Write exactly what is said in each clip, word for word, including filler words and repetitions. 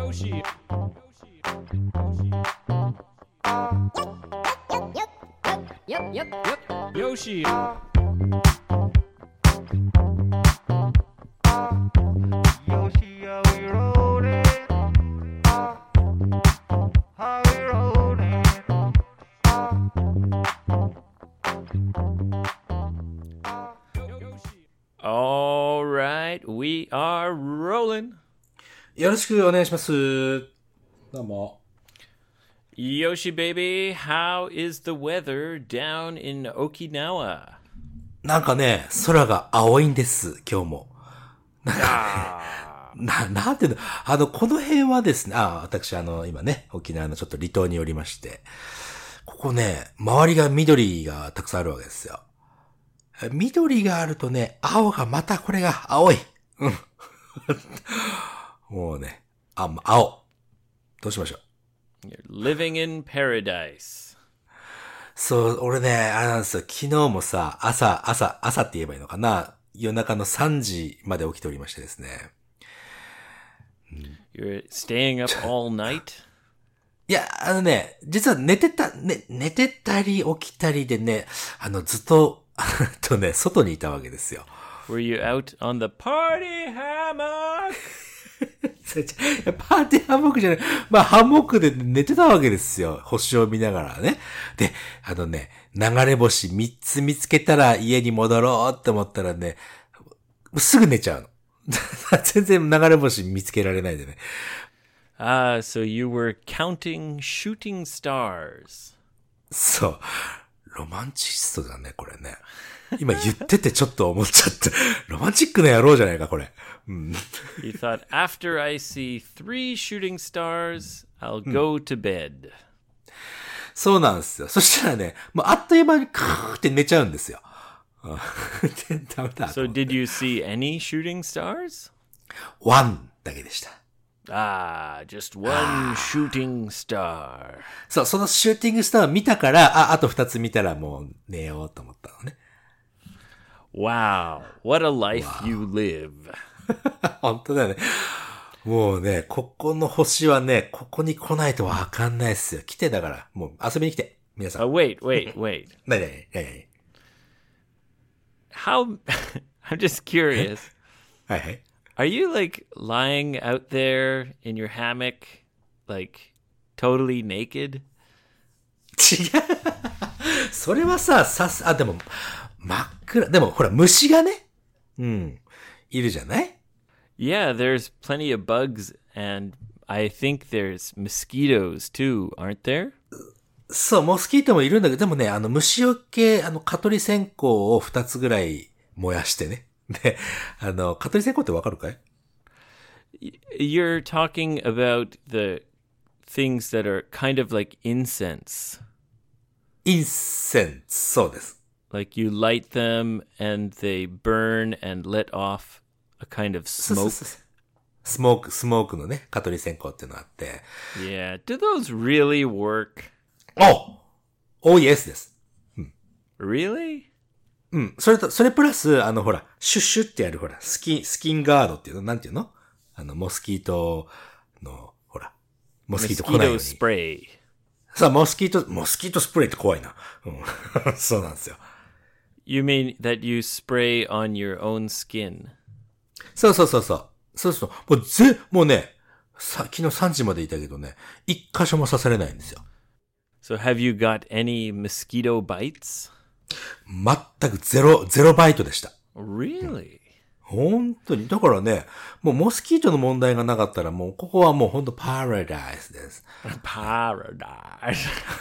Yoshi. Yep, yep, yep. Yoshi. Yoshi, are we rolling? Are we rolling? All right, we are rolling. よろしくお願いします。どうも。 Yoshi baby, how is the weather down in Okinawa? なんかね、空が青いんです、今日も。なんかね、な、なんていうの、あの、この辺はですね、あ、私あの、今ね、沖縄のちょっと離島におりまして、ここね、周りが緑がたくさんあるわけですよ。緑があるとね、青がまたこれが青い。うん。もうね、あ、青。どうしましょう。 You're living in paradise. そう、俺ね、あれなんですよ。昨日もさ、朝、朝、朝って言えばいいのかな。夜中のさんじまで起きておりましてですね。 You're staying up all night? いや、あのね、実は寝てた、ね、寝てたり起きたりでね、あの、ずっと、とね、外にいたわけですよ。 Were you out on the party hammock? パーティーハンモックじゃない。まあ、ハンモックで寝てたわけですよ。星を見ながらね。で、あのね、流れ星みっつ見つけたら家に戻ろうって思ったらね、すぐ寝ちゃうの。全然流れ星見つけられないでね。 Ah, so you were counting shooting stars. そう。ロマンチストだね、これね。今言っててちょっと思っちゃった。ロマンチックな野郎じゃないか、これ。うん、 You thought, after I see three shooting stars, I'll go to bed. そうなんですよ。そしたらね、もうあっという間にカーって寝ちゃうんですよ。でダメだ。 So did you see any shooting stars? ワンだけでした。 Ah, just one shooting star. そう、そのシューティングスターを見たから、あ、あと二つ見たらもう寝ようと思ったのね。 Wow, what a life you live. 本当だよね。もうね、ここの星はね、ここに来ないとわかんないっすよ。来てだから、もう遊びに来て。皆さん。 Oh, wait, wait, wait. なになになになに How, I'm just curious. はいはい。 Are you like lying out there in your hammock, like totally naked? 違う。それはさ、さす、あ、でも、真っ暗。でも、ほら、虫がね、うん、いるじゃない Yeah, there's plenty of bugs, and I think there's mosquitoes too, aren't there? そう、モスキートもいるんだけど、でもね、あの、虫よけ、あの、蚊取り線香を二つぐらい燃やしてね。で、あの、蚊取り線香ってわかるかい You're talking about the things that are kind of like incense. インセンス、そうです。 Like you light them and they burn and let off a kind of そうそう smoke. そうスモーク、スモークのね、蚊取り線香っていうのがあって。 Yeah. Do those really work? おおイエスです。 Really? うん。それと、それプラス、あの、ほら、シュッシュってやる、ほら、スキン、スキンガードっていうの、なんていうのあの、モスキートの、ほら、モスキート来ないよう Mosquito に。 spray. さあ、モスキート、モスキートスプレーって怖いな。うん。そうなんですよ。 You mean that you spray on your own skin? そうそうそうそう。そうそう。もうぜ、もうね、さ、昨日さんじまでいたけどね、一箇所も刺されないんですよ。 So have you got any mosquito bites? 全くゼロ、ゼロバイトでした。 Really? 本当に。だからね、もうモスキートの問題がなかったら、もうここはもう本当パラダイスです。 Paradise.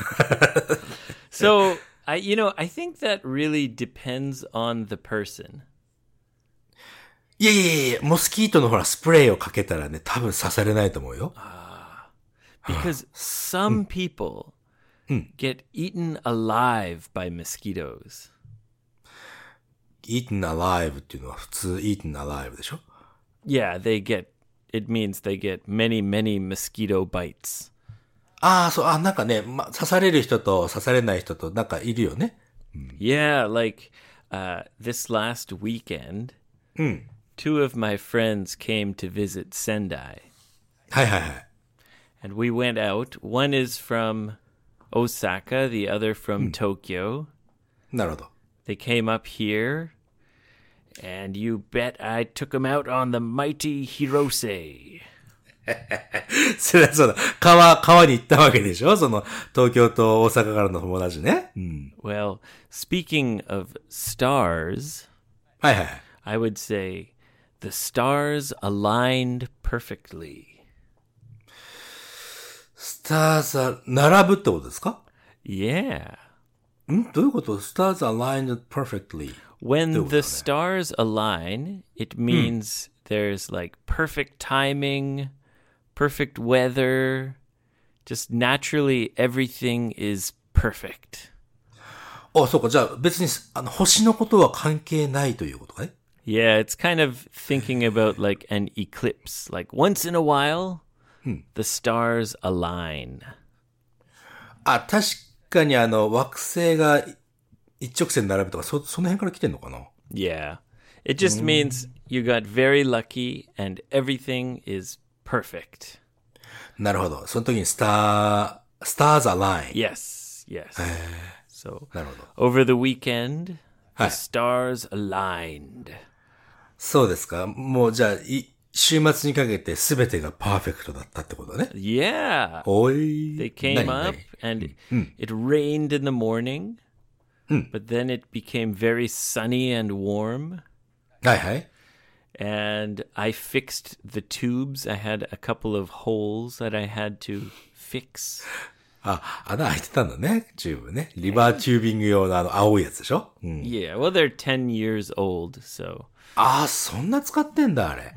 So, I, you know, I think that really depends on the person. いやいやいや、モスキートのほら、スプレーをかけたらね、多分刺されないと思うよ。 Because some people get eaten alive by mosquitoes. eaten alive っていうのは普通 eaten alive でしょ Yeah, they get, it means they get many, many mosquito bites. ああ、そう、あ、なんかね、ま、刺される人と刺されない人となんかいるよね。 Yeah, like uh, this last weekend, うん。 two of my friends came to visit Sendai. はいはいはい。 And we went out. One is from Osaka, the other from Tokyo. なるほど。 They came up here, and you bet I took them out on the mighty Hirose. そりゃそうだ。川、川に行ったわけでしょその、東京と大阪からの友達ね。うん。 Well, speaking of stars, はいはいはい。 I would say the stars aligned perfectly. スターズは並ぶってことですか Yeah. んどういうこと ?Stars aligned perfectly. When Do the it. stars align, it means there's like perfect timing, perfect weather. Just naturally, everything is perfect. あ、そうか。じゃあ別に、あの、星のことは関係ないということかね。 Yeah, it's kind of thinking about like an eclipse. Like once in a while, the stars align. あ、確かにあの、惑星が一直線に並ぶとか、そ、その辺から来てんのかな Yeah. It just means you got very lucky and everything is perfect. なるほど。その時にスター、スターズアライン。 Yes, yes. So なるほど。 over the weekend, the はい。 stars aligned. そうですか。もうじゃあ、い、週末にかけて全てがパーフェクトだったってことね。 Yeah. おい。 They came 何 up 何 and it rained in the morning, but then it became very sunny and warm. はいはい。 And I fixed the tubes. I had a couple of holes that I had to fix. あ、穴開いてたんだね。チューブね。リバーチュービング用のあの青いやつでしょ、うん、 Yeah, well, they're ten years old, so ああ、そんな使ってんだ、あれ。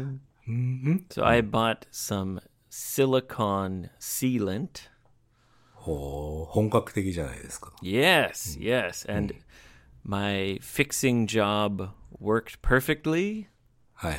so I bought some silicone sealant. ほう、本格的じゃないですか。 Yes, yes, and my fixing job worked perfectly. はいはい。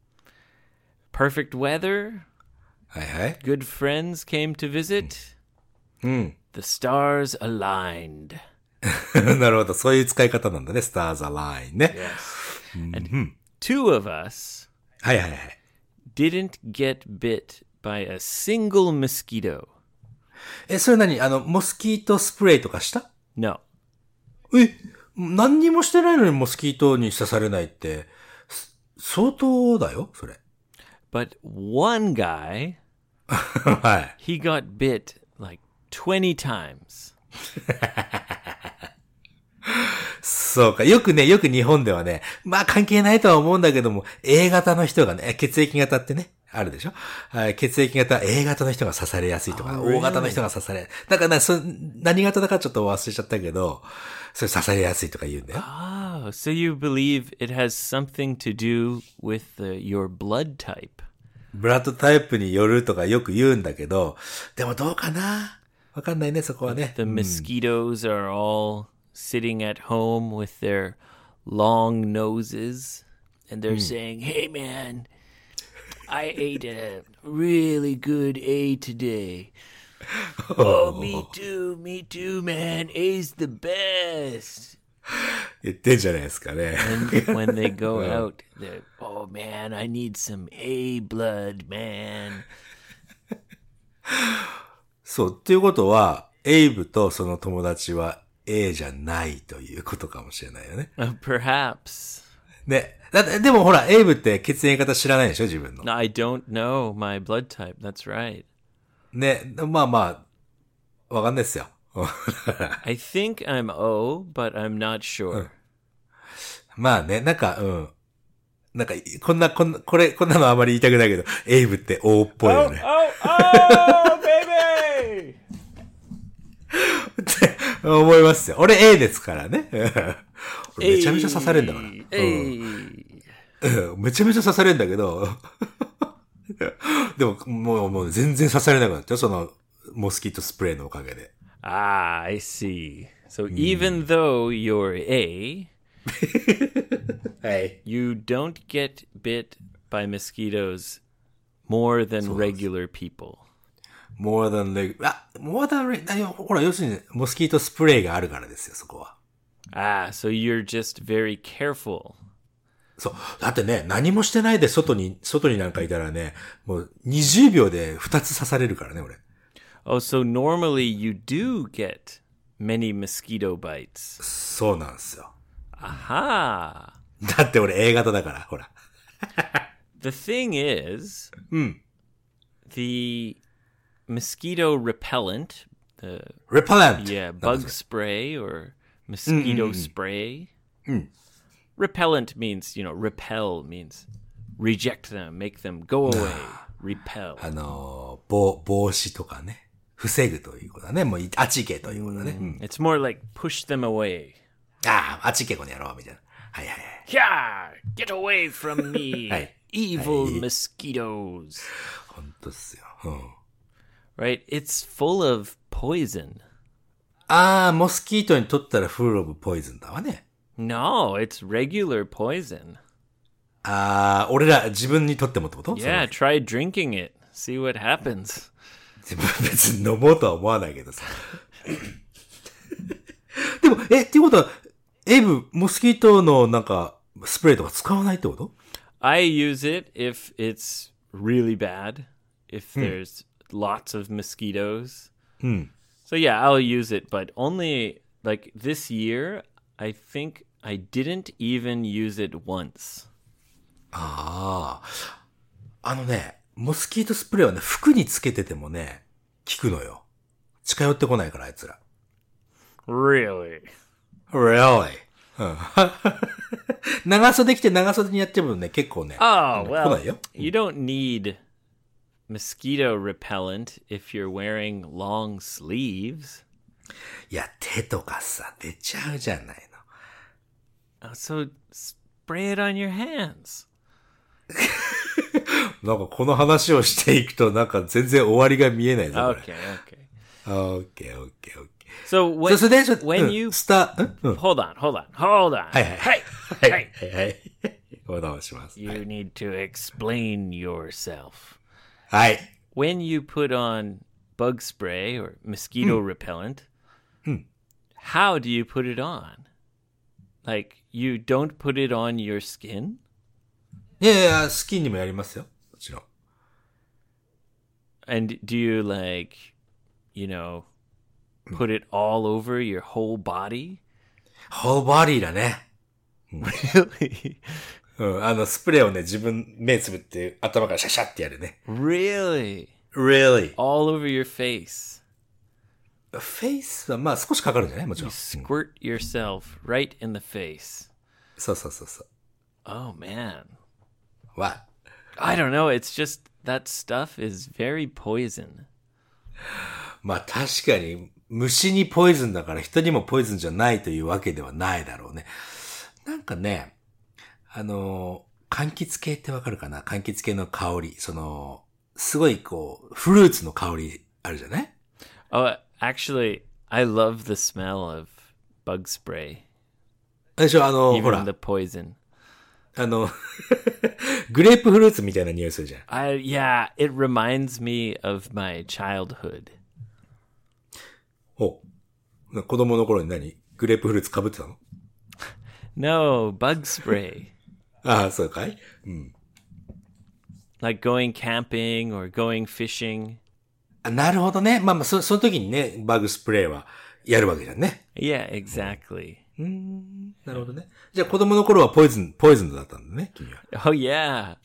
Perfect weather. はいはい。 Good friends came to visit. The stars aligned. なるほど。そういう使い方なんだね。スターズアラインね。 Yes. And two of us はいはいはい。 didn't get bit by a single mosquito. え、それ何あの、モスキートスプレーとかした No. え、何にもしてないのにモスキートに刺されないって、す相当だよ、それ。 But one guy, はい。 he got bit like twenty times. そうか。よくね、よく日本ではね、まあ関係ないとは思うんだけども、A 型の人がね、血液型ってね、あるでしょ、はい、血液型 A 型の人が刺されやすいとか、 Oh, really? O 型の人が刺され、だからね、そ何型だかちょっと忘れちゃったけど、それ刺されやすいとか言うんだよ。 Oh, so you believe it has something to do with the, your blood type? ブラッドタイプによるとかよく言うんだけど、でもどうかなわかんないね、そこはね。 The mosquitoes are all sitting at home with their long noses, and they're saying, "Hey, man, I ate a really good A today." Oh, me too, me too, man. A's the best. 言ってんじゃないですかね。 And when they go out, they're, "Oh, man, I need some A blood, man." そう、っていうことは、エイブとその友達は A じゃないということかもしれないよね。 Uh, perhaps. ね。だってでもほら、エイブって血液型知らないでしょ自分の。 I don't know my blood type. That's right. ね。まあまあ、わかんないですよ。 I think I'm O, but I'm not sure. まあね、なんか、うん。なんか、こんな、こんな、これ、こんなのあまり言いたくないけど、エイブって O っぽいよね。 oh, oh, baby! って思いますよ。俺 A ですからね。俺めちゃめちゃ刺されんだから。 Hey. うんめちゃめちゃ刺されんだけど、でも、もう、もう全然刺されなくなったよ。その、モスキートスプレーのおかげで。 Ah, I see. So even though you're A, はい。 you don't get bit by mosquitoes more than regular people. more than reg- あ、more than reg- あほら、要するに、モスキートスプレーがあるからですよ、そこは。 Ah, so you're just very careful. そう。だってね、何もしてないで外に、外になんかいたらね、もうにじゅうびょうでふたつ刺されるからね、俺。 Oh, so normally you do get many mosquito bites. そうなんですよ。 Aha. だって俺 A 型だから、ほら。 The thing is, うん。 the mosquito repellent, the repellent. yeah, bug spray or mosquito spray. Repellent means, you know, repel means reject them, make them go away, repel. あのー、防、防止とかね。防ぐということだね。もう、あっち行けということだね。うん、 It's more like push them away. ああ、あっち行けこの野郎、みたいな。はいはいはい。 Yeah, get away from me, はい。 evil mosquitoes. 本当っすよ。うん。 Right? It's full of poison. ああ、モスキートにとったらフルオブポイズンだわね。 No, it's regular poison. ああ、俺ら自分にとってもってこと？ Yeah, try drinking it. See what happens. 自分別に飲もうとは思わないけどさ。でも、え、っていうことは、エイブ、モスキートのなんか、スプレーとか使わないってこと？ I use it if it's really bad, if there's lots of mosquitoes. So yeah, I'll use it, but only like this year, I think I didn't even use it once. ああ。あのね、モスキートスプレーはね、服につけててもね、効くのよ。近寄ってこないから、あいつら。 Really? Really? うん。長袖着て長袖にやってもね、結構ね。 Oh, 来 well, ないよ。 you don't need mosquito repellent if you're wearing long sleeves. いや、手とかさ、出ちゃうじゃないの。 Uh, So spray it on your hands. なんかこの話をしていくとなんか全然終わりが見えないぞ、これ。 Okay, okay. オッケーオッケーオッケー。 So そ when, それでちょっと、 when うん you スター、んうん。 hold on, hold on, hold on. はいはい。 Hey, はい hey. はいはい。お願いします。 You need to explain yourself. はい。 When you put on bug spray or mosquito repellent, how do you put it on? Like, you don't put it on your skin? いやいや、スキンにもやりますよ。もちろん。 And do you, like, you know, put it all over your whole body? ホーボディだね。 Really? うん。あの、スプレーをね、自分、目つぶって頭からシャシャってやるね。 Really? Really? All over your face? フェイスはまあ少しかかるんじゃないもちろん。 Squirt yourself right in the face. そうそうそうそう。 Oh, man. What? I don't know. It's just that stuff is very poison. まあ確かに、虫にポイズンだから人にもポイズンじゃないというわけではないだろうね。なんかね、あの、柑橘系ってわかるかな？柑橘系の香り。その、すごいこう、フルーツの香りあるじゃない？ Oh, actually, I love the smell of bug spray. でしょ、あの、ほ Even ら the、poison. あの、グレープフルーツみたいな匂いするじゃん。 I yeah, it reminds me of my childhood. お、子供の頃に何？グレープフルーツ被ってたの？ No, bug spray. ああ、そうかい？うん。 Like going camping or going fishing. あ、なるほどね。まあまあ、そ、その時にね、バグスプレーはやるわけじゃんね。 Yeah, exactly. なるほどね。じゃあ子供の頃はポイズン、ポイズンだったんだね、君は。 Oh yeah.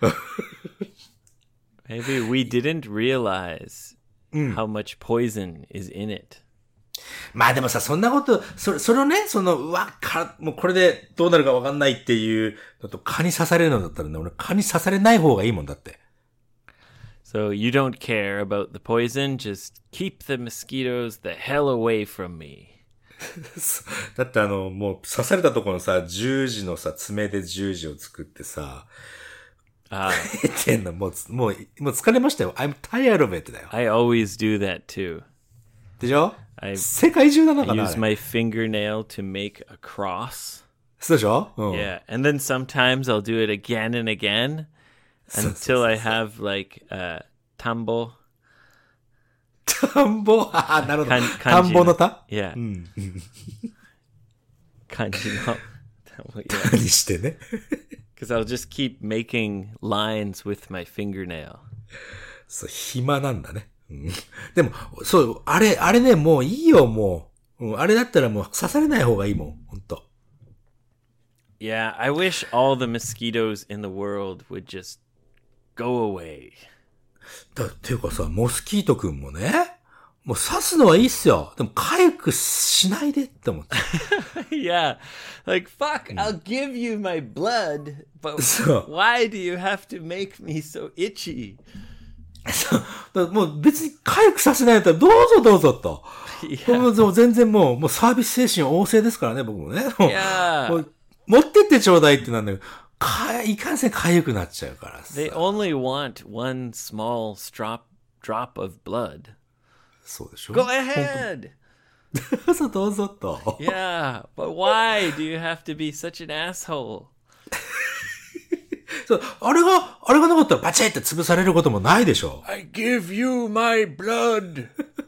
Maybe we didn't realize how much poison is in it. まあでもさ、そんなこと、それ、それをね、その、うわ、か、もうこれでどうなるかわかんないっていうのと、蚊に刺されるのだったらね、俺蚊に刺されない方がいいもんだって。 So you don't care about the poison, just keep the mosquitoes the hell away from me. だってあの、もう刺されたところのさ、十字のさ、爪で十字を作ってさ、 Ah, ってんの、もう、もう、もう疲れましたよ。I'm tired of it だよ。 I always do that too. でしょ？ I 世界中なのか I な？ use あれ my fingernail to make a cross. そうでしょ？うん。 Yeah, and then sometimes I'll do it again and again until I have like uh, tambo. 田んぼ、ああ、なるほど。 かん田んぼの田 Yeah. 感じの tambo, yeah. にしてね。 Because I'll just keep making lines with my fingernail. そう、暇なんだね。うん、でも、そう、あれ、あれね、もういいよ、もう。うん、あれだったらもう刺されない方がいいもん、ほんと。 Yeah, I wish all the mosquitoes in the world would just go away. だっていうかさ、モスキートくんもね、もう刺すのはいいっすよ。でも、痒くしないでって思って。 Yeah, like, fuck, I'll give you my blood, but そう。 why do you have to make me so itchy? そう。だもう別に痒くさせないんだったらどうぞどうぞと。 Yeah. もう全然もう、もうサービス精神旺盛ですからね、僕もね。もう Yeah. もう持ってってちょうだいってなんだけど、か、いかんせん痒くなっちゃうからさ。 They only want one small drop, drop of blood. そうでしょ Go ahead! そう、どうぞと。 Yeah, but why do you have to be such an asshole? そう、あれが、あれがなかったらバチッって潰されることもないでしょ。 I give you my blood!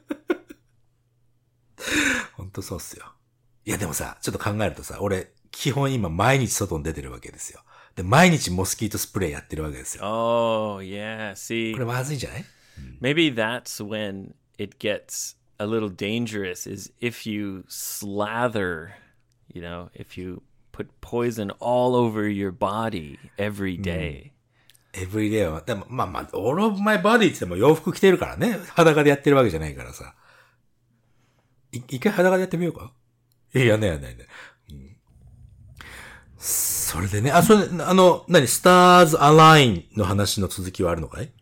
ほんとそうっすよ。いやでもさ、ちょっと考えるとさ、俺、基本今毎日外に出てるわけですよ。で、毎日モスキートスプレーやってるわけですよ。 Oh, yeah, see. これまずいんじゃない？ Maybe that's when it gets a little dangerous is if you slather, you know, if you put poison all over your body every day. every day は、でもまあまあ、all of my body って言っても洋服着てるからね。裸でやってるわけじゃないからさ。い一回裸でやってみようか？いや、やんないやんないね。うん、それでね、あ、それ、あの、何、スターズアラインの話の続きはあるのかい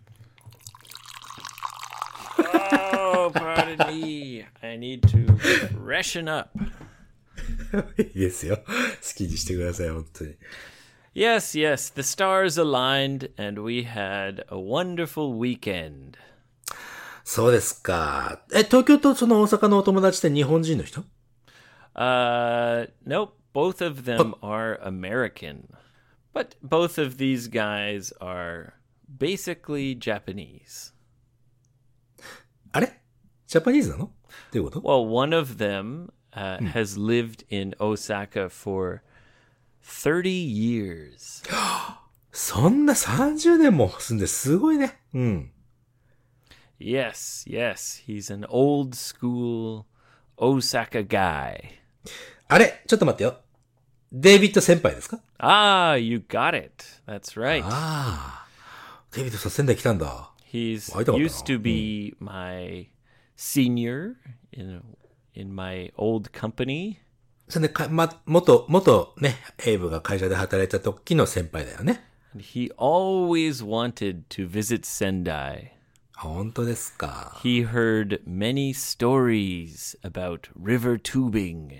Oh, pardon me. I need to freshen up. いいですよ。好きにしてください、本当に。 Yes, yes. The stars aligned and we had a wonderful weekend. そうですか。え、東京とその大阪のお友達って日本人の人？ Uh, nope. Both of them are American. But both of these guys are basically Japanese. あれ？ジャパニーズなの？っていうこと？ Well, one of them uh, has lived in Osaka for thirty years. そんなさんじゅうねんも住んですごいね。うん。 Yes, yes. He's an old school Osaka guy. あれ？ちょっと待ってよ。デイビッド先輩ですか？ Ah, you got it. That's right. ああ。デイビッドさん仙台来たんだ。 He's 会いたかったな。 used to be my senior in in my old company. それでか、ま、元、元ね、エイブが会社で働いた時の先輩だよね。 And he always wanted to visit Sendai. 本当ですか。 He heard many stories about river tubing.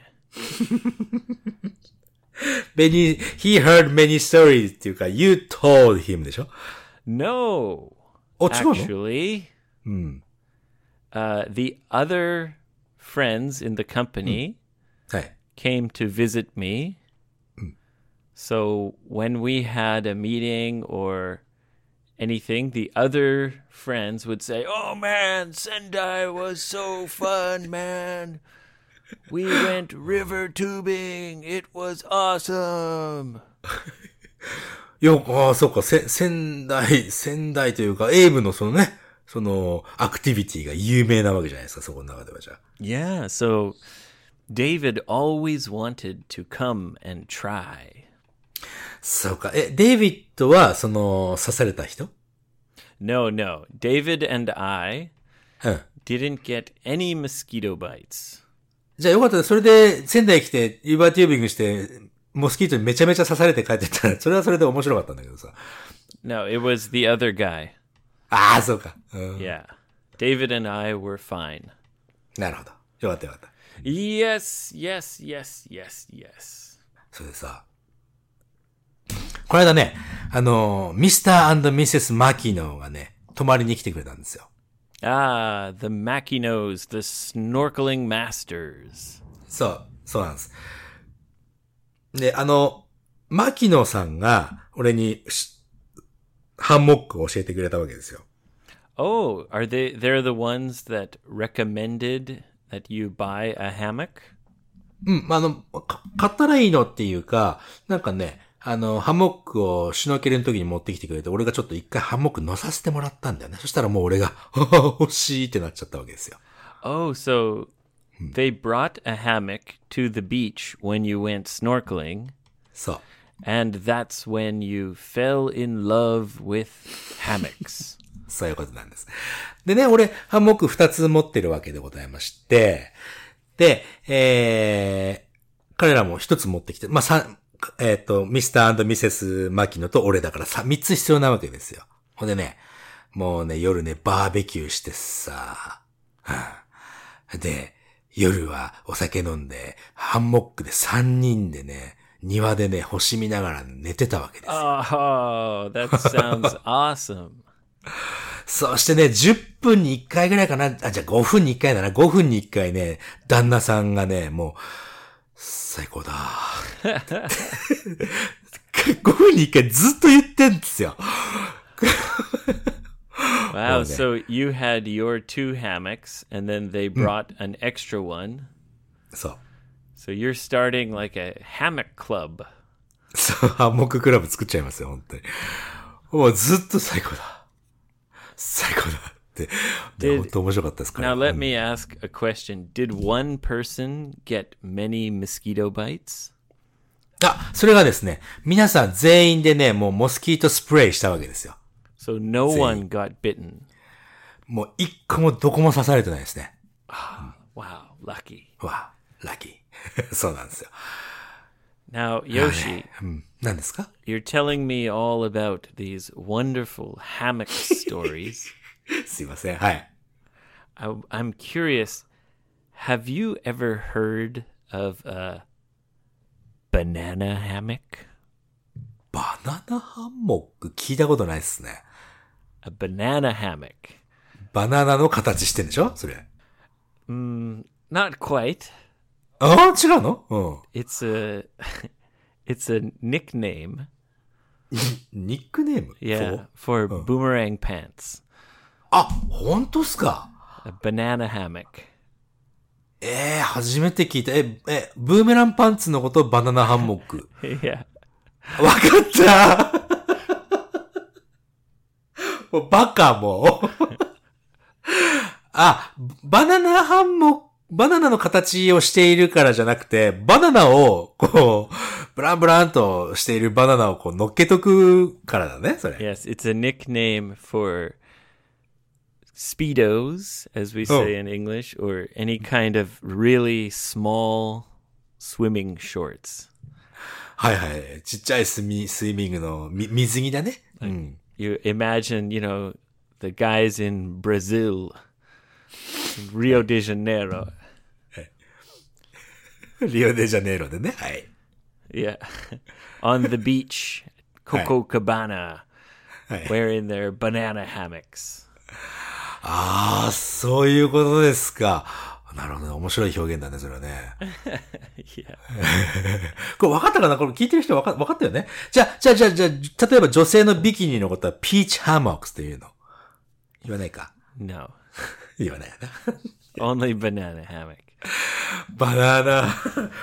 Many, he heard many stories っていうか、you told him でしょ？ No. お、違うの？ Actually, うん。 uh, the other friends in the company はい。 came to visit me. So when we had a meeting or anything, the other friends would say, "Oh man, Sendai was so fun, man. We went river tubing. It was awesome." いや、ああ、そうか、せ、仙台、仙台というか、エイブのそのね、その、アクティビティが有名なわけじゃないですか、そこの中ではじゃあ。 Yeah, so David always wanted to come and try. そうか。え、デイビッドは、その、刺された人？ No, no. David and I うん。 didn't get any mosquito bites. じゃあよかったです。それで、仙台来て、リバーテュービングして、モスキートにめちゃめちゃ刺されて帰ってったら、それはそれで面白かったんだけどさ。 No, it was the other guy. ああ、そうか。うん。 Yeah. David and I were fine. なるほど。よかったよかった。 Yes, yes, yes, yes, yes. それでさ、この間ね、あの、ミスター&ミセス・マキノがね、泊まりに来てくれたんですよ。 Ah, the Makinos, the snorkeling masters. そう、そうなんです。で、あの、マキノさんが、俺に、ハンモックを教えてくれたわけですよ。 Oh, are they, they're the ones that recommended that you buy a hammock? うん、あの、か買ったらいいのっていうか、なんかね、 あの、ハンモックをシュノーケルの時に持ってきてくれて、俺がちょっと一回ハンモック乗させてもらったんだよね。そしたらもう俺が、欲しいってなっちゃったわけですよ。 Oh, so they brought a hammock to the beach when you went snorkeling, そう。 and that's when you fell in love with hammocks. そういうことなんです。でね、俺、ハンモック二つ持ってるわけでございまして、で、えー、彼らも一つ持ってきて、まあ、さ、えっ、と、ミスター&ミセス・マキノと俺だからさ、三つ必要なわけですよ。ほんでね、もうね、夜ね、バーベキューしてさ、はあ、で、夜はお酒飲んで、ハンモックで三人でね、庭でね、星見ながら寝てたわけですよ。 Oh, that sounds awesome. そしてね、じゅっぷんにいっかいぐらいかな。あ、じゃあごふんにいっかいだな。ごふんにいっかいね、旦那さんがね、もう、最高だ。ごふんにいっかいずっと言ってんですよ。 Wow, Okay. so you had your two hammocks, and then they brought an extra one. そう。 So you're starting like a hammock club. そう、ハンモッククラブ作っちゃいますよ、本当に。もうずっと最高だ。最高だって。で Did- 本当面白かったですから Now let me ask a question. Did one person get many mosquito bites? あ、それがですね、皆さん全員でね、もうモスキートスプレーしたわけですよ。 So no one got bitten. もう一個もどこも刺されてないですね。 Wow, lucky. わあ、ラッキー。そうなんですよ。 Now, Yoshi, うん、何ですか you're telling me all about these wonderful hammock stories. すいません。はい。 I, I'm curious. Have you ever heard of a banana hammock? バナナハンモック聞いたことないですね。 A banana hammock. バナナの形してんでしょそれ。 Not quite. ああ、違うのうん。 It's a it's a nickname. ニックネーム Yeah, for boomerang pants. あ、本当っすか A banana hammock. ええー、初めて聞いた。え、え、ブーメランパンツのことバナナハンモック。 Yeah. わかったもうバカもう。あ、バナナハンモック、バナナの形をしているからじゃなくて、バナナを、こう、ブランブランとしているバナナをこう乗っけとくからだね、それ。 Yes, it's a nickname for speedos, as we say Oh. in English, or any kind of really small swimming shorts. はいはい。ちっちゃいスミ、スイミングのみ水着だね。うん。 You imagine, you know, the guys in Brazil, Rio de Janeiro. リオデジャネイロでね。はい。 Yeah. On the beach, Copacabana, はい。 wearing their banana hammocks. ああ、そういうことですか。なるほどね。面白い表現だね、それはね。 Yeah. これ分かったかなこれ聞いてる人分か分かったよねじゃあ、じゃあ、じゃあ、じゃあ、例えば女性のビキニのことはピーチハンモックスっていうの言わないか No. 言わないよな。 Only banana hammock. バナナ。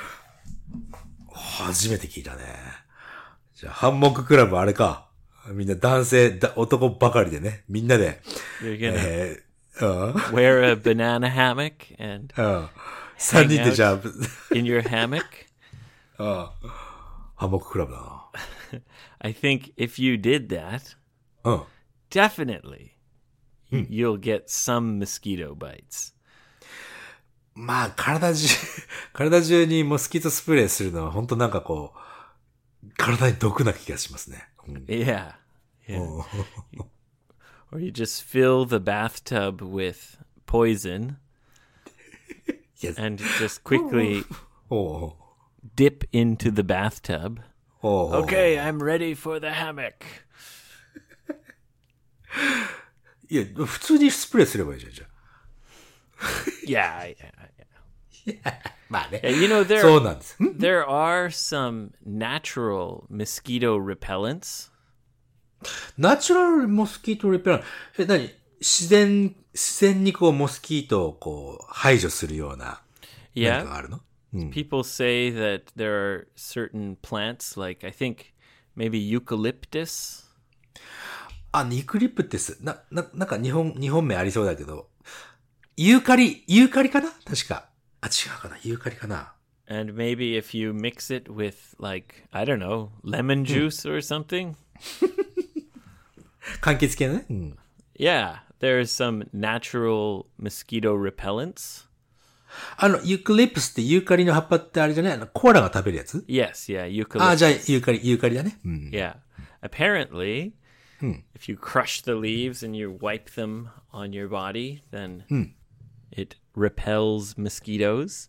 初めて聞いたね。じゃあ、ハンモッククラブあれか。みんな男性、だ男ばかりでね。みんなで。 You're gonna えー、うん。 wear a banana hammock and うん。三人でじゃあ、 in your hammock. うん。ハンモッククラブだな。 I think if you did that, うん。 definitely you'll get some mosquito bites. まあ、体中、体中にモスキートスプレーするのは本当なんかこう、体に毒な気がしますね。うん、 Yeah. Yeah. お Or you just fill the bathtub with poison いや and just quickly おう dip into the bathtub. おうおう Okay, I'm ready for the hammock. いや、普通にスプレーすればいいじゃん、じゃあ。 Yeah, yeah, yeah. まあね。 Yeah, you know, there そうなんです。ん there are some natural mosquito repellents. ナチュラルモスキートリペラン。え、何自然、自然にこうモスキートをこう排除するような何か Yeah. があるのうん。 People say that there are certain plants, like I think maybe eucalyptus. あ、ニクリプテス。な、な、なんか日本、日本名ありそうだけど。ユーカリ、ユーカリかな確か。あ、違うかなユーカリかな And maybe if you mix it with, like, I don't know, lemon juice or something. 柑橘系のね。うん。 Yeah, there's some natural mosquito repellents. あの、ユーカリプスってユーカリの葉っぱってあれじゃないあの、コアラが食べるやつ Yes, yeah, eucalyptus. あ、じゃあ、ユーカリ、ユーカリだね。うん。 Yeah. Apparently, if you crush the leaves and you wipe them on your body, then it repels mosquitoes.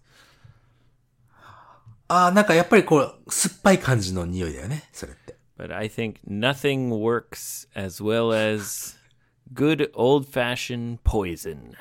ああ、なんかやっぱりこう、酸っぱい感じの匂いだよね、それって。 But I think nothing works as well as good old-fashioned poison.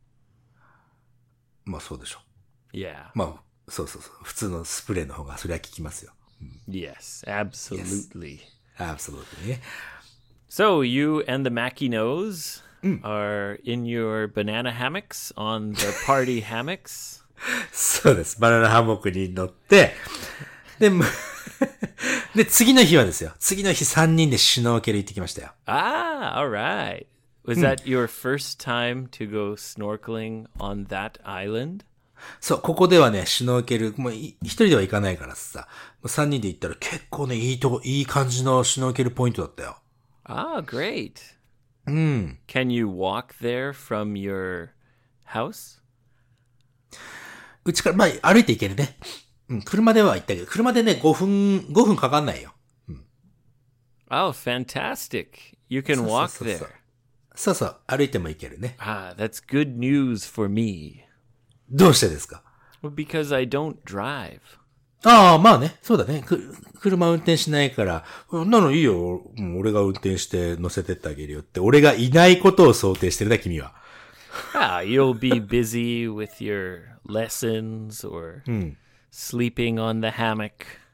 まあそうでしょ Yeah. う。まあ、そうそうそう。普通のスプレーの方がそれは効きますよ。 Yes, absolutely. Absolutely ね。 So you and the Makinos are in your banana hammocks on the party hammocks. そうです。バナナハンモックに乗って、で、むで、次の日はですよ。次の日さんにんでシュノーケル行ってきましたよ。 Ah, all right. Was that your first time to go snorkeling on that island? そう、ここではね、シュノーケル、もうい一人では行かないからさ、さんにんで行ったら結構ね、いいとこ、いい感じのシュノーケルポイントだったよ。 Ah, great. うん。 Can you walk there from your house? うちから、まあ、歩いて行けるね。うん、車では行ったけど、車でね、ごふん、ごふんかかんないよ。 Oh, fantastic. You can そうそう walk そうそう there. そうそう、歩いても行けるね。 Ah, that's good news for me. どうしてですか Well, because I don't drive. ああ、まあね、そうだね。く車運転しないから、うんなのいいよ、もう俺が運転して乗せてってあげるよって、俺がいないことを想定してるな、君は。 Ah, you'll be busy with your lessons or sleeping on the hammock.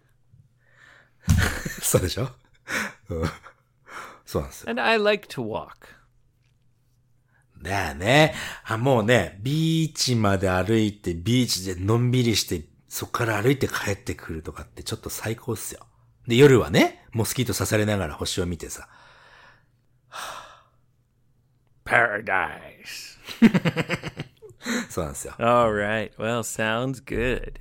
そうでしょ、うん、そうなんですよ。 And I like to walk. だよね。あ、もうね、ビーチまで歩いて、ビーチでのんびりして、そっから歩いて帰ってくるとかってちょっと最高っすよ。で、夜はね、モスキート刺されながら星を見てさ。 Paradise. そうなんですよ。 All right. Well, sounds good.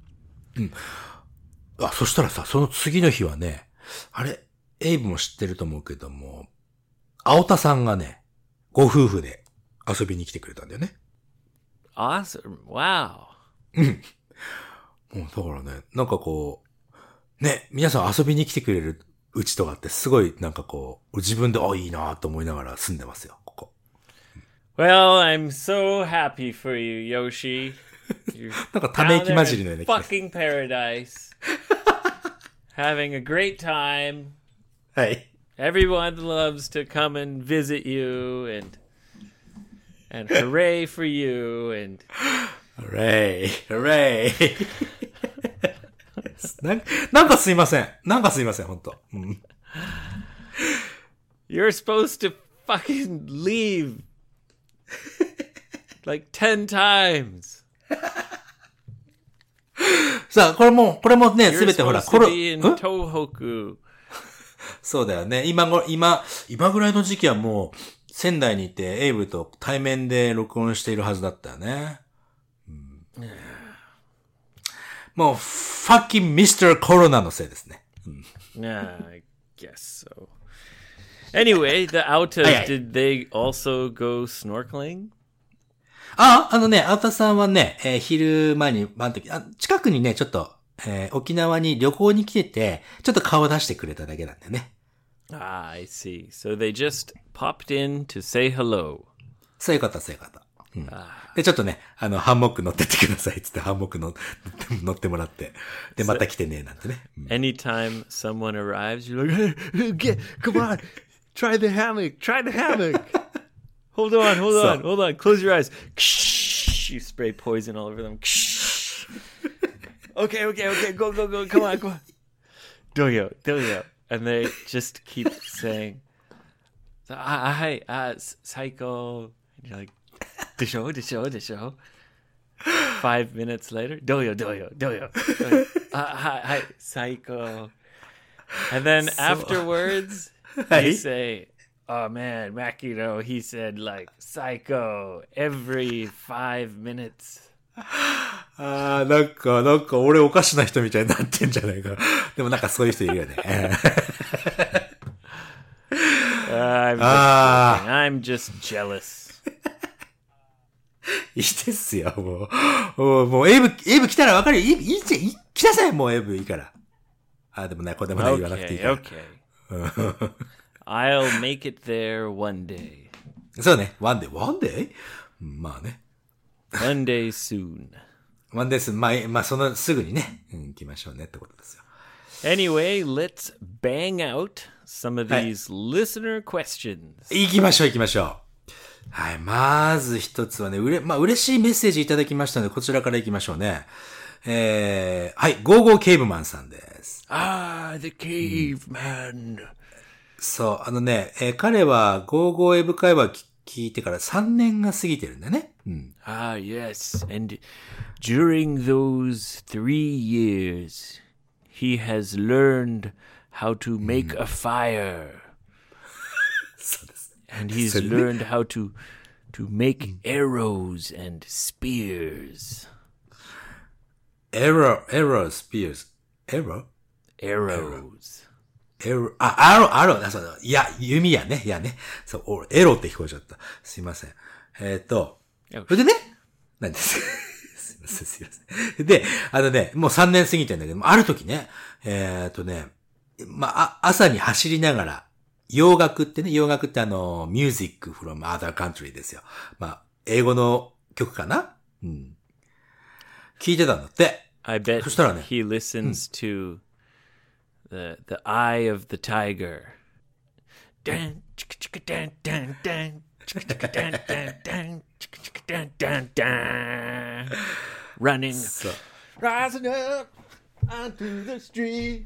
あ、そしたらさ、その次の日はね、あれ、エイブも知ってると思うけども、青田さんがね、ご夫婦で遊びに来てくれたんだよね。 Awesome. Wow. もうだからね、なんかこう、ね、皆さん遊びに来てくれるうちとかってすごいなんかこう、自分で、あ、いいなと思いながら住んでますよ、ここ。 Well, I'm so happy for you, Yoshi. You're なんかため息混じりのよ down う there な in fucking paradise. Having a great time. はい。 Everyone loves to come and visit you and and hooray for you and ほれい、ほれい。なんなんかすいません。なんかすいません、ほんと。うん、 you're supposed to fucking leave like ten times. さあ、これも、これもね、す You're べてほら、 supposed コ to ロ、 be in ん Tohoku. そうだよね。今ご、今、今ぐらいの時期はもう、仙台にいて、エイブと対面で録音しているはずだったよね。うん、もう、ファッキンミスターコロナのせいですね。うん、 Yeah, I guess so. Anyway, the Autas, Aye, aye. did they also go snorkeling? あ、あのね、青田さんはね、えー昼間に、あの時、あ、近くにね、ちょっと、えー沖縄に旅行に来てて、ちょっと顔出してくれただけなんだよね。 Ah, I see. So they just popped in to say hello. そういうこと、そういうこと。うん、で、ちょっとね、あの、ハンモック乗ってってくださいっつって、ハンモックの乗ってもらって、で、また来てね、なんてね。うん、 Anytime someone arrives, you're like, hey, get, come on, try the hammock, try the hammock. Hold on, hold So- on, hold on. Close your eyes. You spray poison all over them. Okay, okay, okay. Go, go, go. Come on, come on. Doyo, doyo. And they just keep saying, hi, uh, psycho. And you're like, the show, the show, the show. Five minutes later, doyo, doyo, doyo. doyo. Uh, hi, hi, psycho. And then afterwards, は you い。 say, "Oh man, Makino, he said like psycho every five minutes." ああ、なんか、なんか俺おかしな人みたいになってんじゃないかな。でもなんかそういう人いるよね。 Uh, I'm, just Ah. joking. I'm just jealous. いいですよ、もう。もう、もうエイブ、エイブ来たらわかるよ。いい、いいじゃん、い来なさい、もうエイブいいから。あ、でもね、これでもね、言わなくていい Okay, から okay. I'll make it there one day. そうね、ワンデー、ワンデーうんまあね。 One day soon. ワンデース、まあ、まあ、その、すぐにね、うん、行きましょうねってことですよ。 Anyway, let's bang out some of はい。 these listener questions. 行きましょう、行きましょう。はい、まず一つはね、うれ、まあ、嬉しいメッセージいただきましたので、こちらから行きましょうね。えー、はい、ゴーゴーケーブマンさんです。 Ah, the caveman. そう、あのね、えー彼はゴーゴーエブ会話聞聞いてからさんねんが過ぎてるんだね。うん。 Ah, yes. And during those three years, he has learned how to make a fire. そうです。 And he's それね。 learned how to to make arrows and spears. エロ、エロ、スピアーズ。エロ Arrows. エロ、あ、アロ、アロ、あそうだ。いや、弓やね。いやね。そう、おエロって聞こえちゃった。すいません。えっ、と、 よしそれでね、何ですすいません、すいません。で、あのね、もうさんねん過ぎてんだけど、ある時ね、えっ、とね、まあ、あ朝に走りながら、洋楽ってね、洋楽ってあの、music from other country ですよ。まあ、英語の曲かなうん。聞いてたんだって。 I bet そしたらね、 he listens to the the eye of the tiger. Dun, chicka, chicka, dun, dun, dun, chicka, chicka, dun, dun, dun, chicka, chicka, dun, dun, dun. Running, そう。 rising up onto the street.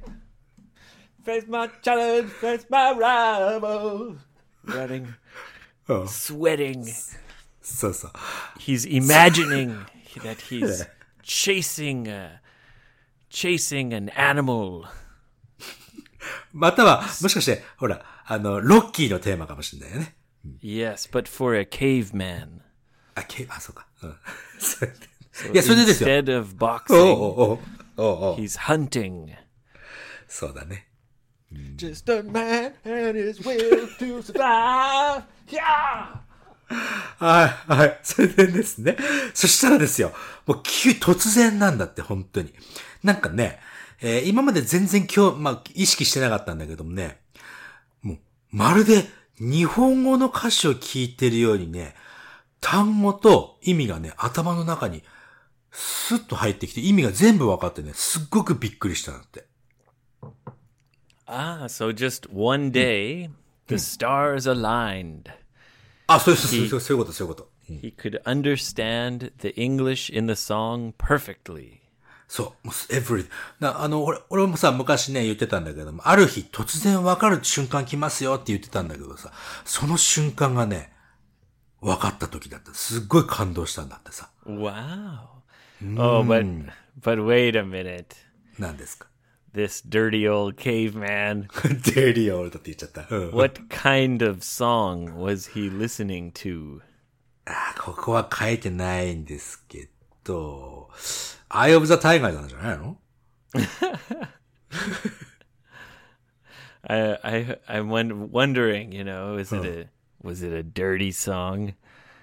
Face my challenge, face my rival. Running, うん sweating. そうそう。 He's imagining that he's chasing a, chasing an animal. または、もしかして、ほら、あの、ロッキーのテーマかもしれないよね。 Yes, but for a caveman. あ、け、あ、そうか。うん。それでいや、それでですよ。 Instead of おう boxing, おうおうおうおう he's hunting. そうだね。 Just a man and his will to survive. Yeah! はい、はい。それでですね。そしたらですよ。もう急、突然なんだって、本当に。なんかね、えー今まで全然今日、まあ、意識してなかったんだけどもね、もう、まるで日本語の歌詞を聞いてるようにね、単語と意味がね、頭の中にスッと入ってきて、意味が全部分かってね、すっごくびっくりしたんだって。 Ah, so just one day, the stars aligned. あ、そうそうそうそう、そういうこと、そういうこと。うん He could understand the English in the song perfectly. そう、もう、every、な、あの、俺、俺もさ、昔ね、言ってたんだけども、ある日、突然分かる瞬間来ますよって言ってたんだけどさ、その瞬間がね、分かった時だった。すっごい感動したんだってさ。 Wow. Oh, but but wait a minute. 何ですか This dirty old caveman. デリオールドって言っちゃった。うん What kind of song was he listening to? あここは書いてないんですけど、Eye of the Tiger なんじゃないの I I I'm won- wondering, you know, is it a was it a dirty song?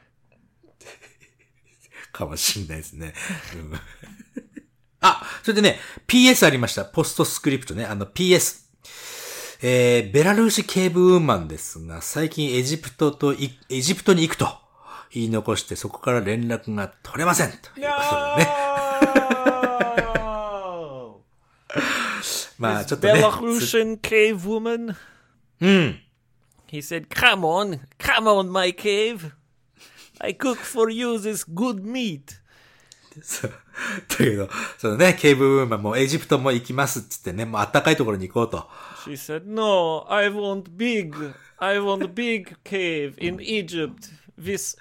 かもしんないですね。うんあ、それでね、ピーエス ありました。ポストスクリプトね。あの ピーエス。えー、ベラルーシケーブウーマンですが、最近エジプトとい、エジプトに行くと言い残して、そこから連絡が取れません。ということでね。まあ、ちょっとね。 Belarusian cave woman. うん。 He said, "Come on, come on, my cave. I cook for you this good meat." そう。だけど、そのね、ケーブウーマンもエジプトも行きますっつってね、もう暖かいところに行こうと。 She said, "No, I want big. I want a big cave in Egypt with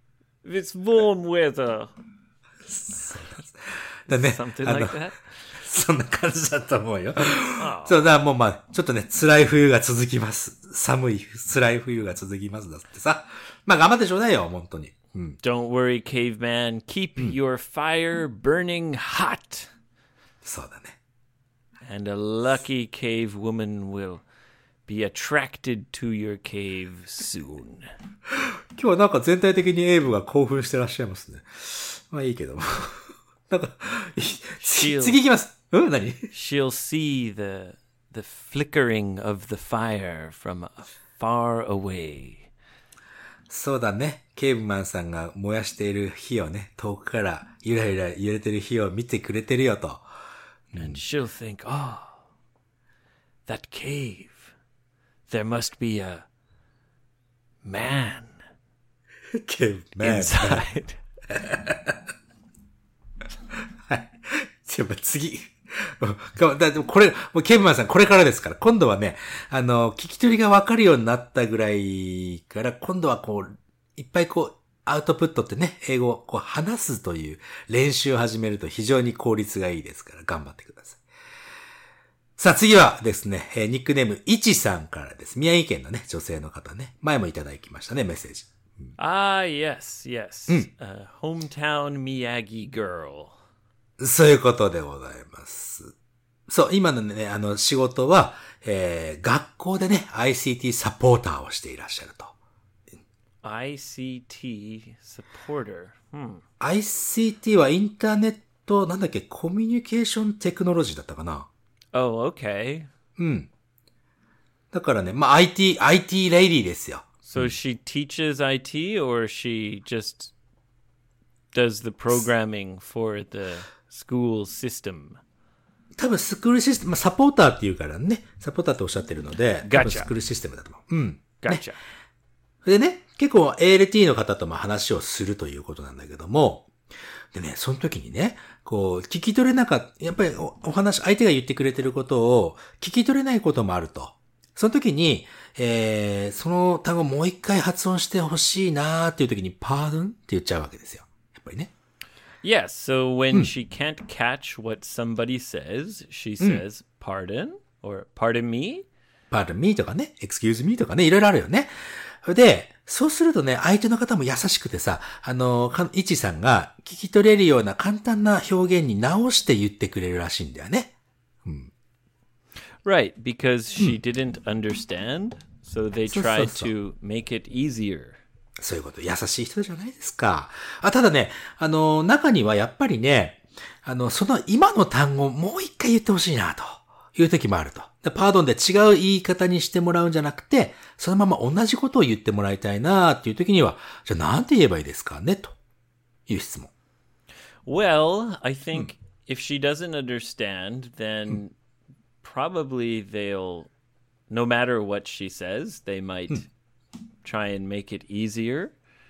with warm weather." だね。 Something あの like that. そんな感じだと思うよ。そうだ、もうまあ、ちょっとね、辛い冬が続きます。寒い、辛い冬が続きますだってさ。まあ頑張ってちょうだいよ、本当に。うん。 Don't worry, caveman. Keep your fire burning hot. そうだね。 And a lucky cave woman will be attracted to your cave soon. 今日はなんか全体的にエイブが興奮してらっしゃいますね。まあいいけども。なんか、次行きます。うん何 She'll see the, the flickering of the fire from far away. そうだね。ケイブマンさんが燃やしている火をね、遠くからゆらゆら揺れてる火を見てくれてるよと。 And she'll think, oh, that cave. There must be a man ケイブマン。 inside. はい。じゃあ次。だでもこれ、もうケイブマンさんこれからですから、今度はね、あの、聞き取りがわかるようになったぐらいから、今度はこう、いっぱいこう、アウトプットってね、英語をこう話すという練習を始めると非常に効率がいいですから、頑張ってください。さあ次はですね、えー、ニックネーム、いちさんからです。宮城県のね、女性の方ね。前もいただきましたね、メッセージ。 Ah, yes, yes. Uh, hometown Miyagi girl. そういうことでございます。そう、今のね、あの、仕事は、えー、学校でね、アイシーティー サポーターをしていらっしゃると。 アイシーティー supporter. Hmm. アイシーティー はインターネット、なんだっけ、コミュニケーションテクノロジーだったかな。 Oh, okay. うん。だからね、まあ、アイティー、アイティー レイディーですよ。 So she teaches I T or she just does the programming for the school system? 多分スクールシステム、まあ、サポーターっていうからね、サポーターっておっしゃってるので、多分スクールシステムだと思う。うん。 Gotcha. ね、でね、結構 エーエルティー の方とも話をするということなんだけども、でね、その時にね、こう、聞き取れなかった、やっぱり お, お話、相手が言ってくれてることを聞き取れないこともあると。その時に、えー、その単語もう一回発音してほしいなーっていう時に、pardon って言っちゃうわけですよ。やっぱりね。 Yes, so when she can't catch what somebody says, she says, pardon, or pardon me? pardon me とかね、excuse me とかね、いろいろあるよね。で、そうするとね、相手の方も優しくてさ、あの、いちさんが聞き取れるような簡単な表現に直して言ってくれるらしいんだよね。うん。 Right, because she didn't understand, so they tried to make it easier. そういうこと、優しい人じゃないですか。あ、ただね、あの、中にはやっぱりね、あの、その今の単語をもう一回言ってほしいな、という時もあると。パードンで違う言い方にしてもらうんじゃなくて、そのまま同じことを言ってもらいたいなっていう時には、じゃあなんて言えばいいですかねという質問。 Well, I think if she doesn't understand, then probably they'll, no matter what she says, they might try and make it easier.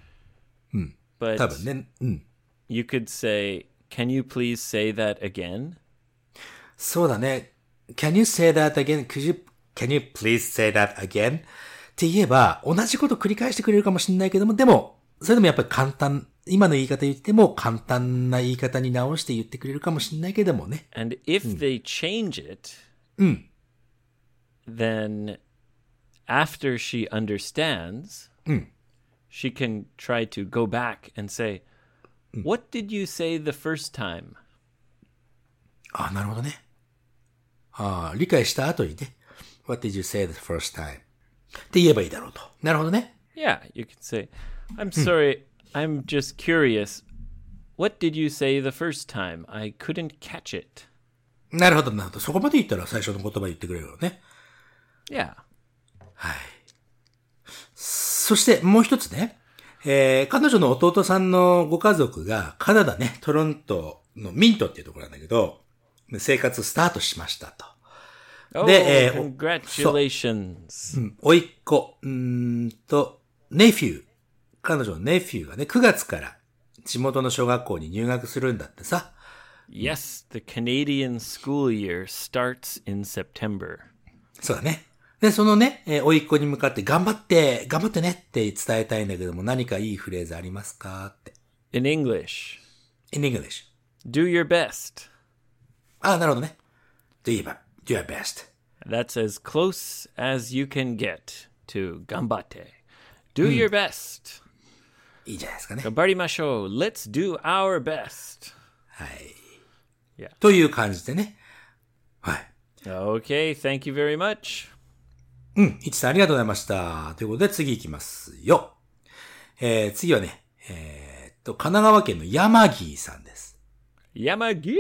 But 多分ね、うん。 you could say, can you please say that again? そうだね。Can you say that again? Could you, can you please say that again? って言えば、同じこと繰り返してくれるかもしれないけども、でも、それでもやっぱり簡単、今の言い方言っても簡単な言い方に直して言ってくれるかもしれないけどもね。 And if they change it, うん。 then after she understands, うん。 she can try to go back and say, what did you say the first time? あ、なるほどね。ああ、理解した後にね。What did you say the first time? って言えばいいだろうと。なるほどね。 Yeah, you can say, I'm sorry, I'm just curious. What did you say the first time? I couldn't catch it. なるほど、なるほど。そこまで言ったら最初の言葉言ってくれるよね。 Yeah. はい。そしてもう一つね。えー、彼女の弟さんのご家族がカナダね、トロントのミントっていうところなんだけど、生活スタートしましたと。 Oh, で、えー、 congratulations. うん、おいっ子、うーんと、ネフュー。彼女のネフューがね、くがつから地元の小学校に入学するんだってさ。 Yes, the Canadian school year starts in September. そうだね。で、そのね、えー、おいっ子に向かって頑張って、頑張ってねって伝えたいんだけども、何かいいフレーズありますかって。 In English. In English. Do your best. あ、なるほどね。do your, do your best. That's as close as you can get to ganbatte. Do your best. いいじゃないですかね。 頑張りましょう. Let's do our best. はい。 Yeah. という感じでね。はい。 Okay, thank you very much. うん、いちさんありがとうございました。ということで次行きますよ。えー、次はね、えー、っと、神奈川県の山木さんです。 Yamagi!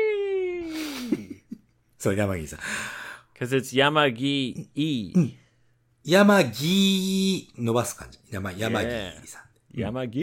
そう、山木さん。 Because it's Yamagi-e. 山木伸ばす感じ。山、山木さん。 Yamagi!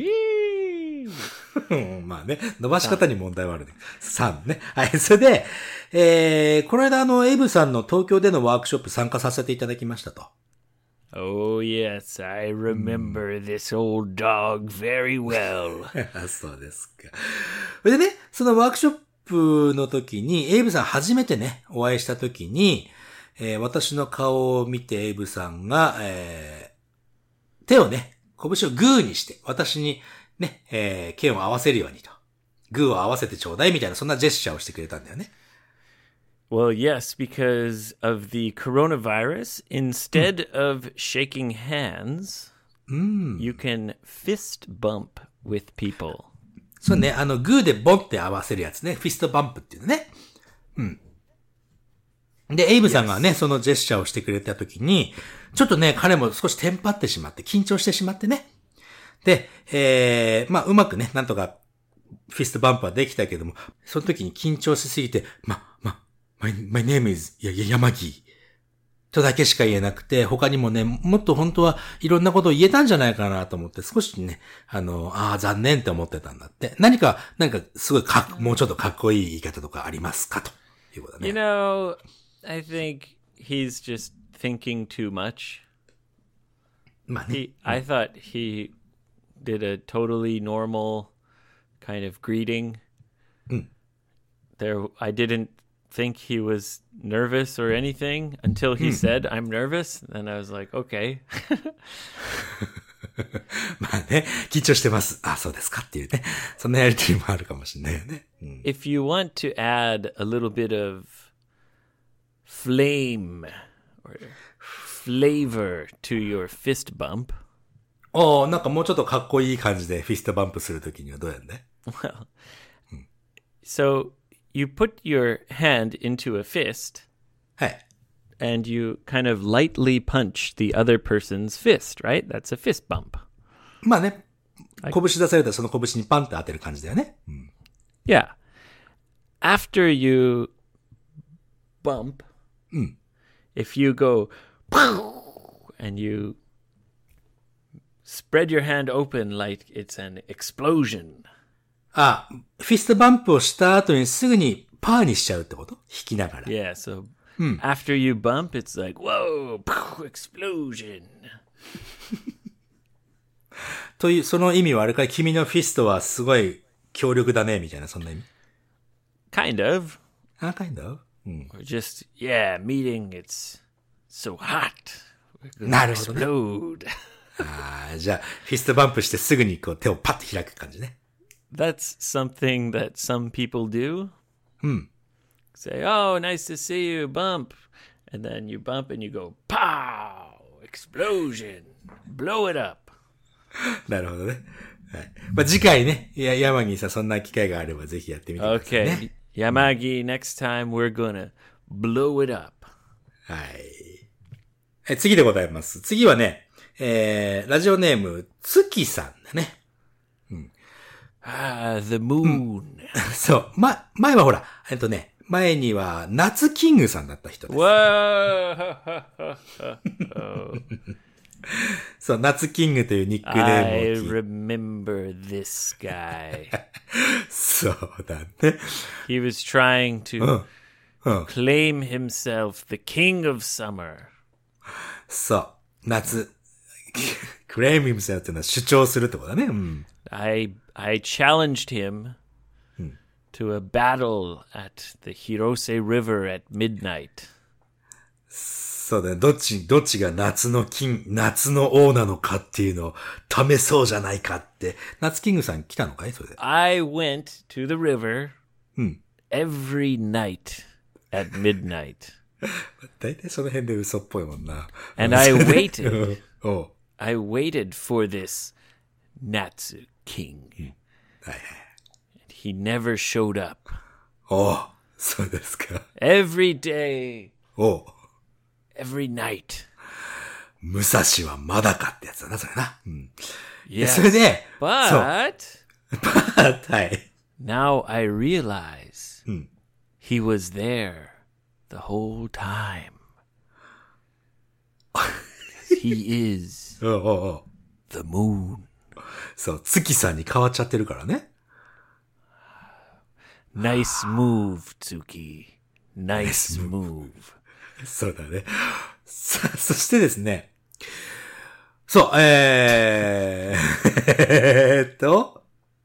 うんまあね、伸ばし方に問題はあるね。さんね。はい、それで、えー、この間あの、エイブさんの東京でのワークショップ参加させていただきましたと。 Oh, yes, I remember this old dog very well. そうですか。それでね、そのワークショップの時に、エイブさん初めてね、お会いした時に、えー、私の顔を見てエイブさんが、えー、手をね、拳をグーにして、私にね、えー、剣を合わせるようにと。グーを合わせてちょうだいみたいな、そんなジェスチャーをしてくれたんだよね。 Well, yes, because of the coronavirus, instead of shaking hands, you can fist bump with people. そうね、あの、グーでボンって合わせるやつね。フィストバンプっていうのね。うん。で、エイブさんがね、そのジェスチャーをしてくれたときに、ちょっとね、彼も少しテンパってしまって、緊張してしまってね。で、えー、まあ、うまくね、なんとか、フィストバンプはできたけども、その時に緊張しすぎて、ま、ま、my, my name is, や、や、山木。とだけしか言えなくて、他にもね、もっと本当はいろんなことを言えたんじゃないかなと思って、少しね、あの、ああ、残念って思ってたんだって。何か、なんか、すごいかっ、もうちょっとかっこいい言い方とかありますかということね。 You know, I think he's just thinking too much. まあね。 He, I thought he did a totally normal kind of greeting. There, I didn't think he was nervous or anything until he said, I'm nervous. And I was like, okay. まあね、緊張してます。あ、そうですかっていうね。そんなやりとりもあるかもしれないよね。うん、 If you want to add a little bit of flame or flavor to your fist bump. おー、なんかもうちょっとかっこいい感じでフィストバンプするときにはどうやんね Well, so you put your hand into a fist はい。 and you kind of lightly punch the other person's fist, right? That's a fist bump. まあね、拳出されたらその拳にパンって当てる感じだよね。うん、 Yeah. After you bump, if you go and you spread your hand open like it's an explosion. あ、フィストバンプをした後にすぐにパーにしちゃうってこと？弾きながら。 Yeah, so after you bump, it's like, whoa, explosion. という、その意味はあれかい？君のフィストはすごい強力だね、みたいな、そんな意味？ Kind of. あ、kind of? うん。 Or just, yeah, meeting, it's so hot. We're な gonna るほどね。 explode. ああ、じゃあ、フィストバンプしてすぐにこう手をパッと開く感じね。 That's something that some people do. Say, oh, nice to see you, bump. And then you bump and you go, pow, explosion, blow it up. なるほどね。はい。まあ、次回ね、いや、山木さんそんな機会があればぜひやってみてくださいね。 Okay, Yamagi, next time we're gonna blow it up. はい。え、次でございます。次はね、えー、ラジオネーム、月さんだね。 Ah, the moon. そう。ま、前はほら、えっとね、前には、夏キングさんだった人です。 Whoa. そう、夏キングというニックネ I ームを聞い remember this guy. そうだね。 He was trying to claim himself the king of summer. そう。夏。クレイミムセルっていうのは主張するってことだね。うん。 I I challenged him to a battle at the Hirose River at midnight. そうだね。どっち、どっちが夏のキン、夏の王なのかっていうのを試そうじゃないかって。夏キングさん来たのかいそれで。 I went to the river every night at midnight. 大体その辺で嘘っぽいもんな。 And I waited. おう I waited for this Natsu king. はいはい。 He never showed up. おうそうですか。 Every day, おう every night. 武蔵はまだかってやつだな、それな。うん。で Yes. それで、そう。 But はい。 now I realize うん。 he was there the whole time. He is おうおうおう the moon. そう、月さんに変わっちゃってるからね。 Nice move, Tsuki. Nice move. そうだね。さ、そしてですね。そう、えー、えーっと、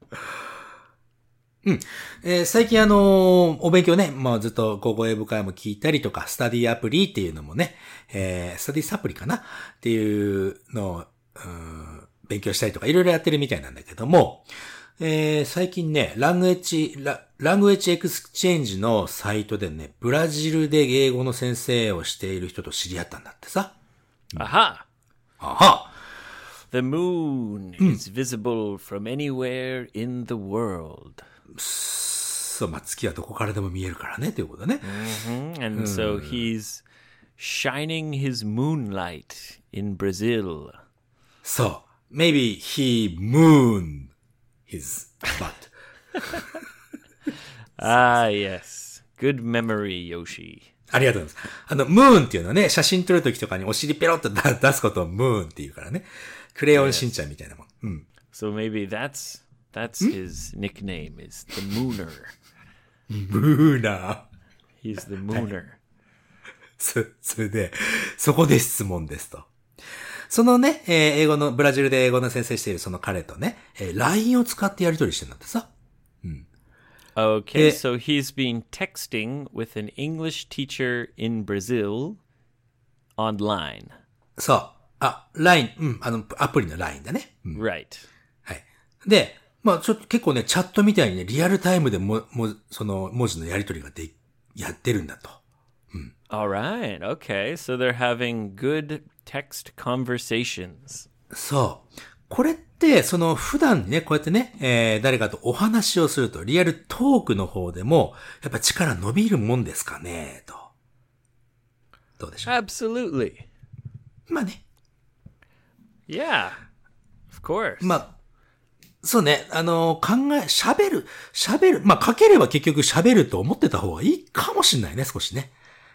うん。えー最近あのーお勉強ね、まあずっと高校英語会も聞いたりとか、スタディアプリっていうのもね、えー、スタディサプリかなっていうのを、うん勉強したりとかいろいろやってるみたいなんだけども、えー、最近ね、ラングエッジ、ラ、ラングエッジエクスチェンジのサイトでね、ブラジルで英語の先生をしている人と知り合ったんだってさ。 Aha! あは The moon is visible from anywhere in the world. そう、まあ、月はどこからでも見えるからね、ということね。 Mhm. And so he's shining his moonlight in Brazil. そう。Maybe he mooned his butt. Ah, yes. Good memory, Yoshi. ありがとうございます。あの、ムーンっていうのはね、写真撮るときとかにお尻ペロッと出出すことをムーンっていうからね。クレヨンしんちゃんみたいなもん。うん。 So maybe that's that's his nickname is the Mooner. ムーナー。 He's the Mooner. そ、それで、そこで質問ですと。そのね、えー英語の、ブラジルで英語の先生しているその彼とね、えー ライン を使ってやり取りしてるんだってさ。 Okay, Eh. so he's been texting with an English teacher in Brazil online. そう。あ、ライン、うん、あの、アプリの ライン だね。うん Right. はい。で、まあちょっと結構ね、チャットみたいにね、リアルタイムでも、も、その文字のやり取りがで、やってるんだと。 All right. Okay. So they're having good text conversations. そう。これって、その普段ね、こうやってね、えー、誰かとお話をすると、リアルトークの方でも、やっぱ力伸びるもんですかね、と。どうでしょう。 Absolutely. まあね。 Yeah. Of course. まあ、そうね、あの、考え、喋る、喋る、まあ書ければ結局喋ると思ってた方がいいかもしれないね、少しね。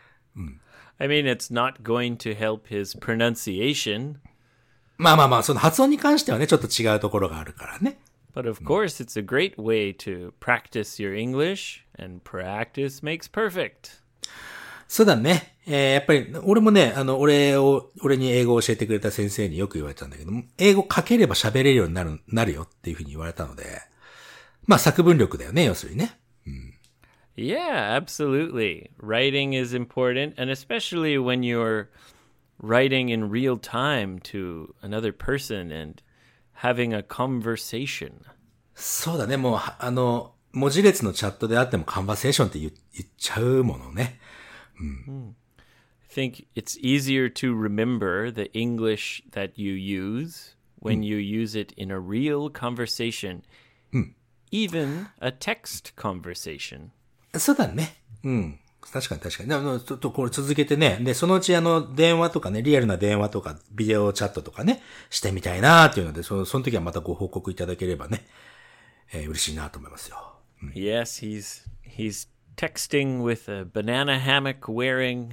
I mean, it's not going to help his pronunciation, まあまあまあ、その発音に関してはね、ちょっと違うところがあるからね。 but of course, it's a great way to practice your English, and practice makes perfect. そうだね。えー、やっぱり、俺もね、あの、俺を、俺に英語を教えてくれた先生によく言われたんだけども、英語書ければ喋れるようになる、なるよっていうふうに言われたので、まあ作文力だよね、要するにね。 Yeah, absolutely. Writing is important, and especially when you're writing in real time to another person and having a conversation. そうだね、もう、はあの、文字列のチャットであってもカンバセーションって言言っちゃうものね。 I think it's easier to remember the English that you use when you use it in a real conversation, even a text conversation. そうだね。うん。確かに確かに。でもちょっとこれ続けてね。で、そのうちあの、電話とかね、リアルな電話とか、ビデオチャットとかね、してみたいなっていうので、その、その時はまたご報告いただければね、えー嬉しいなと思いますよ。 Yes, he's he's texting with a banana hammock wearing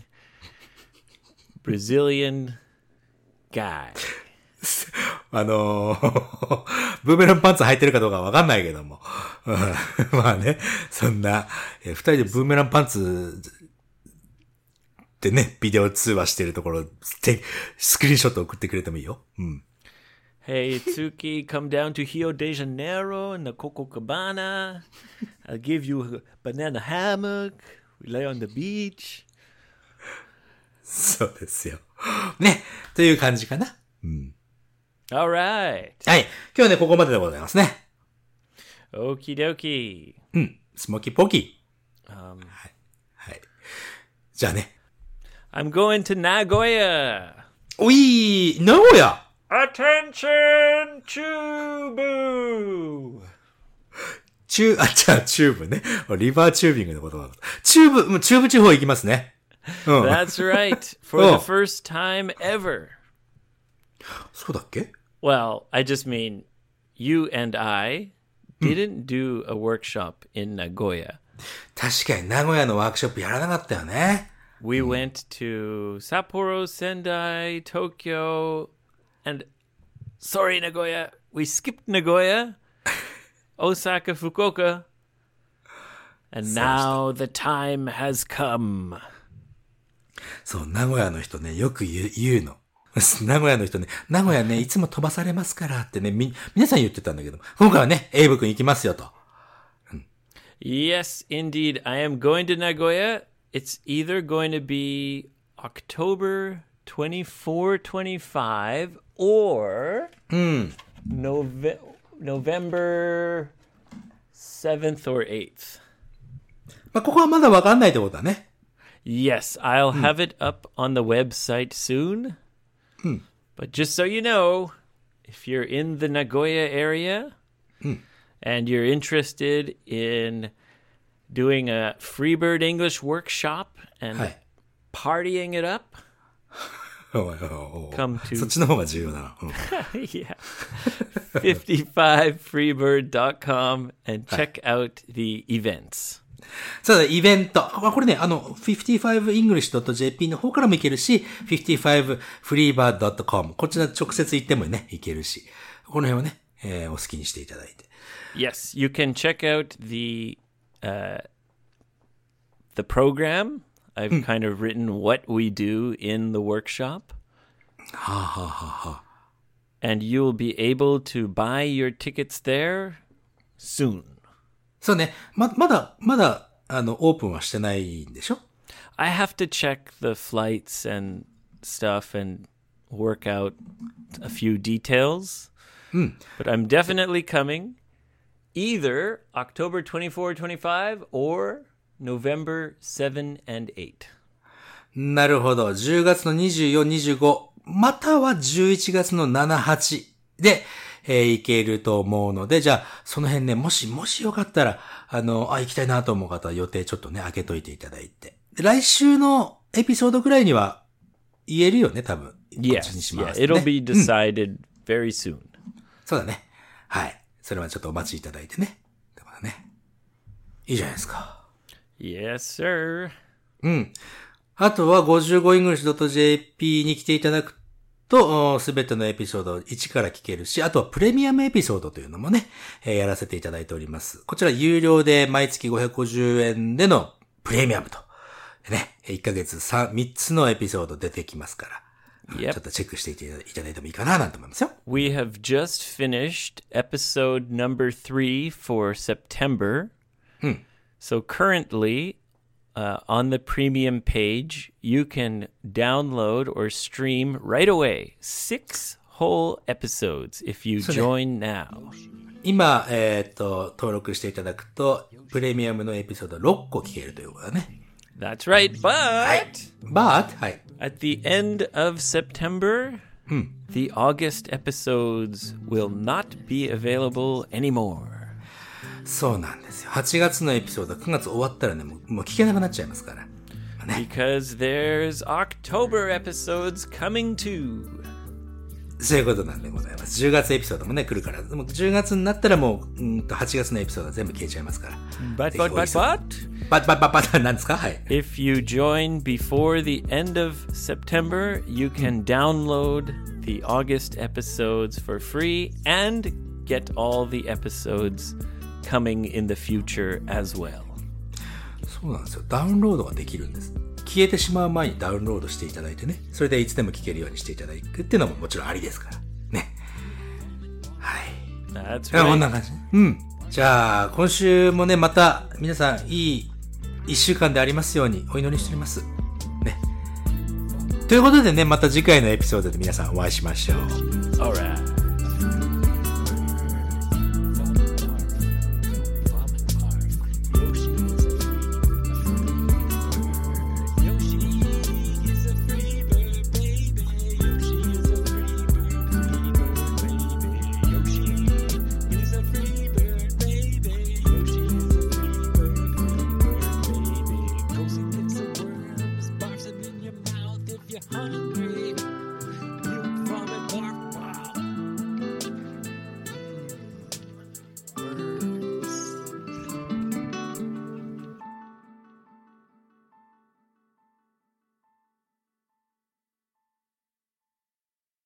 Brazilian guy. あのー、ブーメランパンツ履いてるかどうかわかんないけども。うんまあね、そんな、えー二人でブーメランパンツでね、ビデオ通話してるところ、てスクリーンショット送ってくれてもいいよ。うん。 Hey, Tsuki, come down to Rio de Janeiro in the Copacabana. I'll give you a banana hammock. We lay on the beach. そうですよ。ね、という感じかな。 All right. はい。今日はね、ここまででございますね。 Okie dokie. うん。スモーキーポーキー。 Um, はい。じゃあね。 I'm going to Nagoya. おい名古屋 Attention, Chubu. チュー、あ、じゃあチューブね。リバーチュービングのことだ。チューブ、もうチューブ地方行きますね。うん。 That's right. For Oh. the first time ever. そうだっけ Well, I just mean you and I didn't do a workshop in Nagoya. 確かに名古屋のワークショップやらなかったよね。 We went to Sapporo, Sendai, Tokyo, and sorry, Nagoya. We skipped Nagoya, Osaka, Fukuoka. And now the time has come. そう、名古屋の人ね、よく言う、言うの。名古屋の人ね、名古屋ね、いつも飛ばされますからってね、み、皆さん言ってたんだけど、今回はね、エイブ君行きますよと。 Yes, indeed. I am going to Nagoya. It's either going to be October twenty-fourth, twenty-fifth or Nove- November seventh or eighth. まあ、ここはまだわかんないってことだね。 Yes, I'll have it up on the website soon. But just so you know, if you're in the Nagoya area and you're interested in doing a Freebird English workshop and はい。 partying it up, おいおいおい come to そっちの方が重要だな。うん yeah, fifty-five freebird dot com and check out the events. そうだ、イベント。これね、あの、フィフティファイブイングリッシュドットジェーピー の方からも行けるし、フィフティファイブフリーバードットコム こちら直接行ってもね、行けるし。この辺はね、えー、お好きにしていただいて。 Yes, you can check out the uh, the program. I've kind of written what we do in the workshop. はあ、はあはあはあ、 And you'll be able to buy your tickets there soon. そうね、ま、まだ、まだ、あの、オープンはしてないんでしょ I have to check the flights and stuff and work out a few details. But I'm definitely coming either October twenty-fourth, twenty-fifth or November seventh and eighth. なるほど。じゅうがつのにじゅうよっか、にじゅうご、またはじゅういちがつのしち、はちで、えー、行けると思うので、じゃあ、その辺ね、もし、もしよかったら、あの、あ、行きたいなと思う方は予定ちょっとね、開けといていただいて。で来週のエピソードぐらいには言えるよね、多分。こっちに Yes, しま yeah, すね。 it'll be decided very soon. そうだね。はい。それはちょっとお待ちいただいてね。だからね。いいじゃないですか。 Yes, sir. うん。あとは ごじゅうごイングリッシュドットジェーピー に来ていただくと、すべてのエピソードをいちから聞けるし、あとはプレミアムエピソードというのもね、えーやらせていただいております。こちら有料で毎月ごひゃくごじゅうえんでのプレミアムと。でね、いっかげつさん、みっつのエピソード出てきますから、 Yep. ちょっとチェックしていただいてもいいかななんて思いますよ。 We have just finished episode number three for September. So currently, uh, on the premium page, you can download or stream right away six whole episodes if you join now. 今、えっと、登録していただくと、プレミアムのエピソードろっこ聞けるということだね。 That's right, but But, はい。 at the end of September, the August episodes will not be available anymore. そうなんですよ。はちがつのエピソード、くがつ終わったらね、もう、もう聞けなくなっちゃいますから。まあね、 Because there's October episodes coming too. そういうことなんでございます。じゅうがつエピソードもね、来るから。でもじゅうがつになったらもう、うんとはちがつのエピソードは全部消えちゃいますから。 But, ぜひ but, お but, 急ぎ but, バッバッバッバッなんですかはい。 if you join before the end of September, you can download the August episodes for free and get all the episodes coming in the future as well. そうなんですよ。ダウンロードができるんです。消えてしまう前にダウンロードしていただいてね。それでいつでも聞けるようにしていただくっていうのももちろんありですから。ね。はい。 That's いやこん right. な感じ。うん。じゃあ、今週もね、また皆さんいい一週間でありますようにお祈りしております。ね。ということでね、また次回のエピソードで皆さんお会いしましょう。 All right.